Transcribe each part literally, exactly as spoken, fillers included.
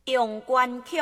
用关曲。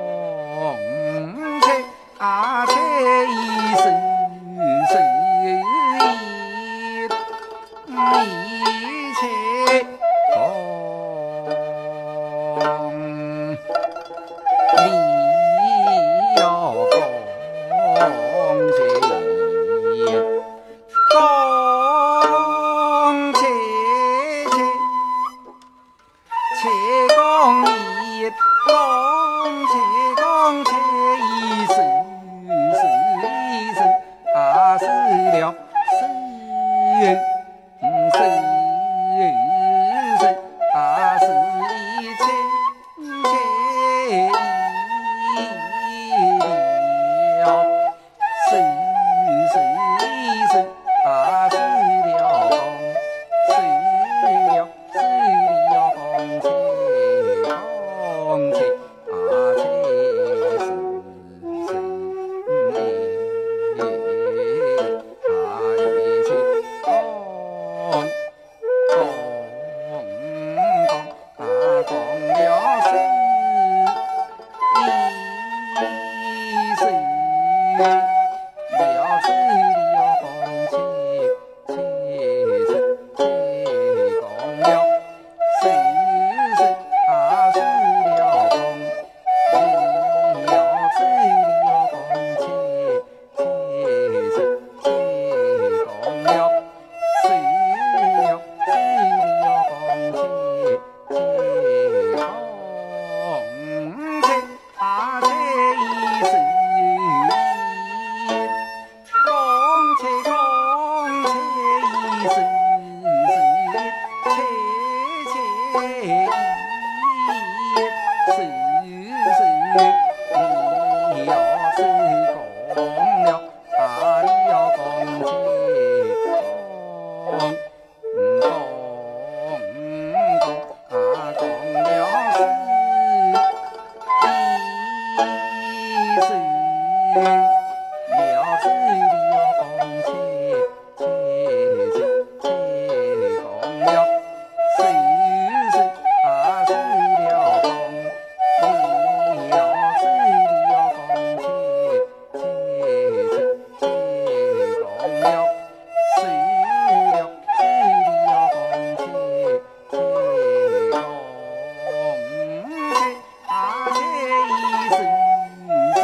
啊，这一世世是了是是是啊是一切切了是是是啊是了公是了是了公切公切啊切是是啊一切公公公啊公了是一是了是了公切切是切公了是是啊是了公了是了公切切是切公了是了是了公切切公切啊切一是公切公切一是是切切一是是你要是公了啊你要公切公公公啊公了是一是了是了公切切是切公了是是啊是了公了是了公切切是切公了是了是了公切切公切啊切一是是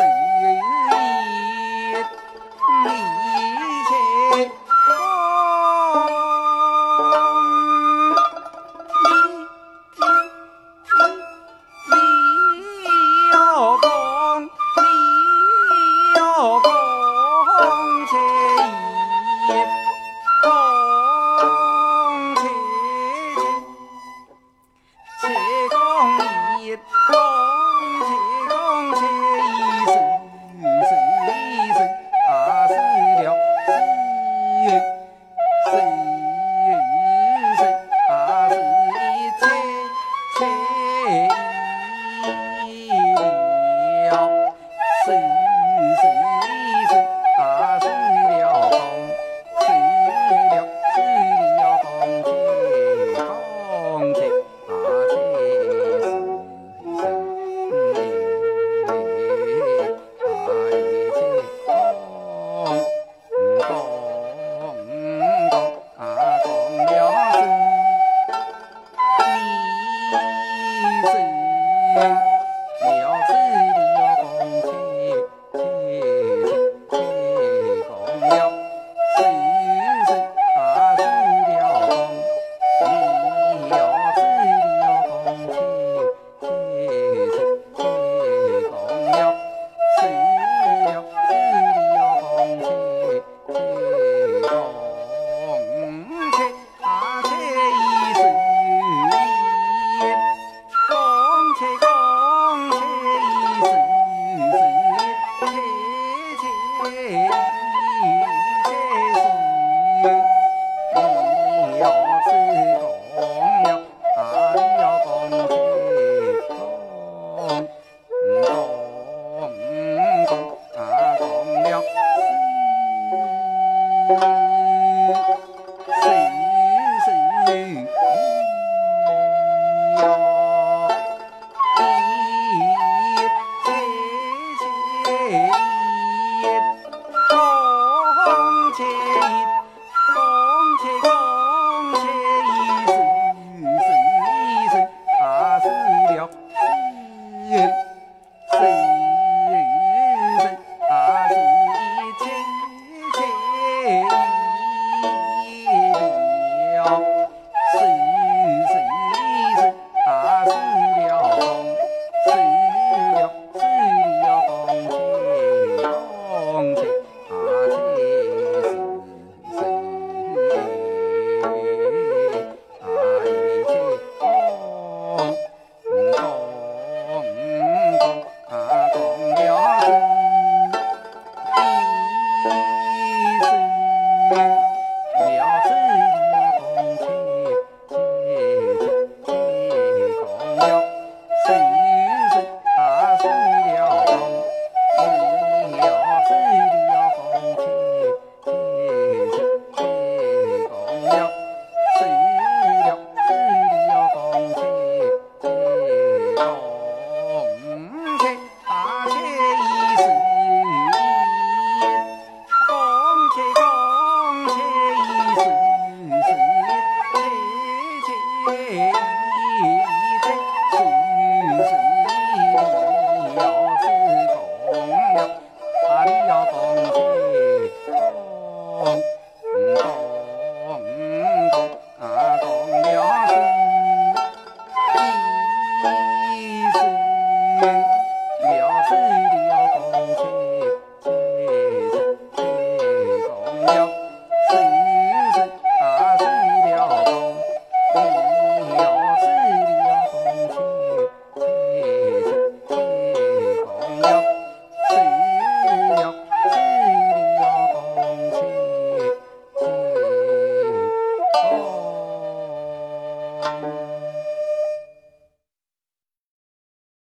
一切你要公你要公切一公切切切公一公切公切一是是一是啊是了是是是啊是一切切一了是是是啊是了公是了是了公切公切啊切是是啊一切公公公啊公了是一是了是了公切切是切公了是是啊是了公了是了公切切是切公了是了是了公切切公切啊切一是一公切公切一是是切切一切是你要是公了啊你要公切公公公啊公了是是是要一切切一公切